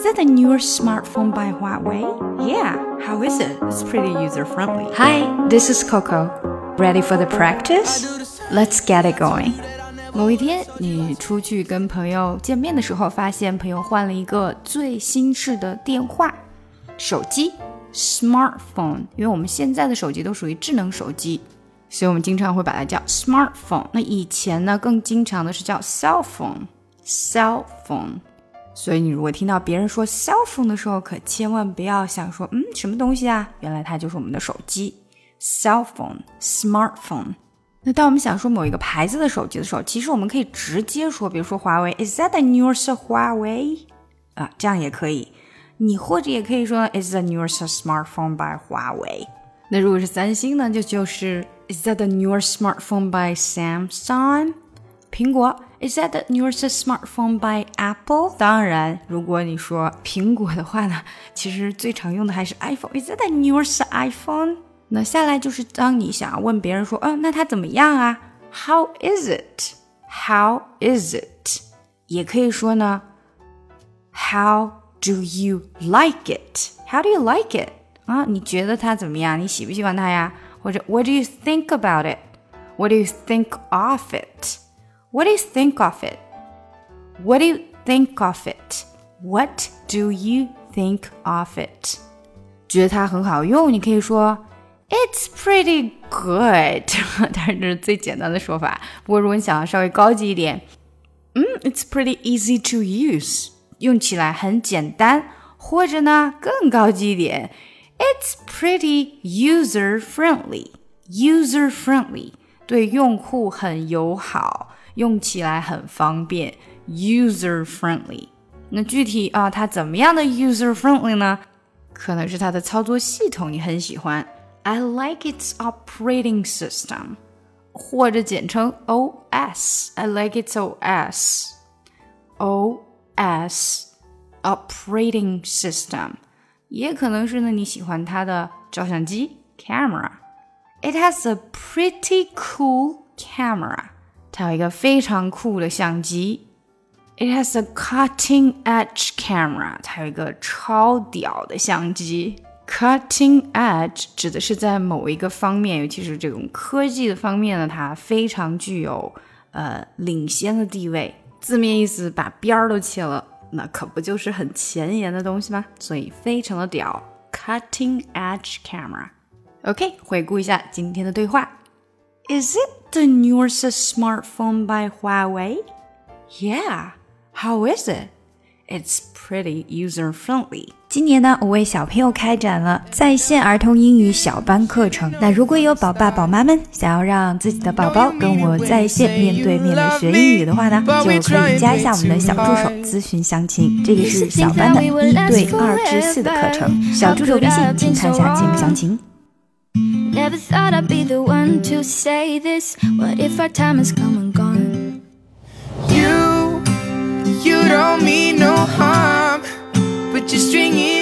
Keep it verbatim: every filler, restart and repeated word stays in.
that the newer smartphone by Huawei? Yeah, how is it? It's pretty user-friendly. Hi, this is Coco. Ready for the practice? Let's get it going. 某一天，你出去跟朋友见面的时候，发现朋友换了一个最新式的电话、手机 smartphone， 因为我们现在的手机都属于智能手机，所以我们经常会把它叫 smartphone。那以前呢，更经常的是叫 cell phone cell phone。所以你如果听到别人说 cell phone 的时候，可千万不要想说嗯什么东西啊，原来它就是我们的手机 cell phone smartphone。 那当我们想说某一个牌子的手机的时候，其实我们可以直接说，比如说华为 Is that the newest Huawei？ 啊，这样也可以。你或者也可以说 Is the newest smartphone by Huawei？ 那如果是三星呢，就就是 Is that the newest smartphone by Samsung？ 苹果Is that the newest smartphone by Apple？ 当然，如果你说苹果的话呢，其实最常用的还是 iPhone。Is that the newest iPhone？ 那下来就是当你想要问别人说，嗯，那它怎么样啊 ？How is it？ How is it？ 也可以说呢 How do you like it？ How do you like it？ 啊，你觉得它怎么样？你喜不喜欢它呀？或者 What do you think about it？What do you think of it？What do you think of it? What do you think of it? What do you think of it? 觉得它很好用，你可以说 It's pretty good 但是这是最简单的说法。不过如果你想要稍微高级一点，嗯 It's pretty easy to use 用起来很简单。或者呢更高级一点， It's pretty user friendly User friendly 对用户很友好，用起来很方便 user friendly。 那具体啊，它怎么样的 user friendly 呢？可能是它的操作系统你很喜欢， I like its operating system， 或者简称 O S， I like its O S O S operating system。 也可能是呢你喜欢它的照相机 camera， It has a pretty cool camera，它有一个非常酷的相机。 It has a cutting edge camera， 它有一个超屌的相机。 Cutting edge 指的是在某一个方面，尤其是这种科技的方面呢，它非常具有呃领先的地位。字面意思把边儿都切了，那可不就是很前沿的东西吗？所以非常的屌 Cutting edge camera。 OK， 回顾一下今天的对话。Is it the newest smartphone by Huawei? Yeah, how is it? It's pretty user-friendly. 今年呢，我为小朋友开展了在线儿童英语小班课程。那如果有宝爸宝妈们想要让自己的宝宝跟我在线面对面的学英语的话呢，就可以加一下我们的小助手咨询详情。这个是小班的一对二至四的课程，小助手微信请看一下节目详情。 Never thought I'd be the one to say this. What if our time has come and gone? You, you don't mean no harm, but you're stringing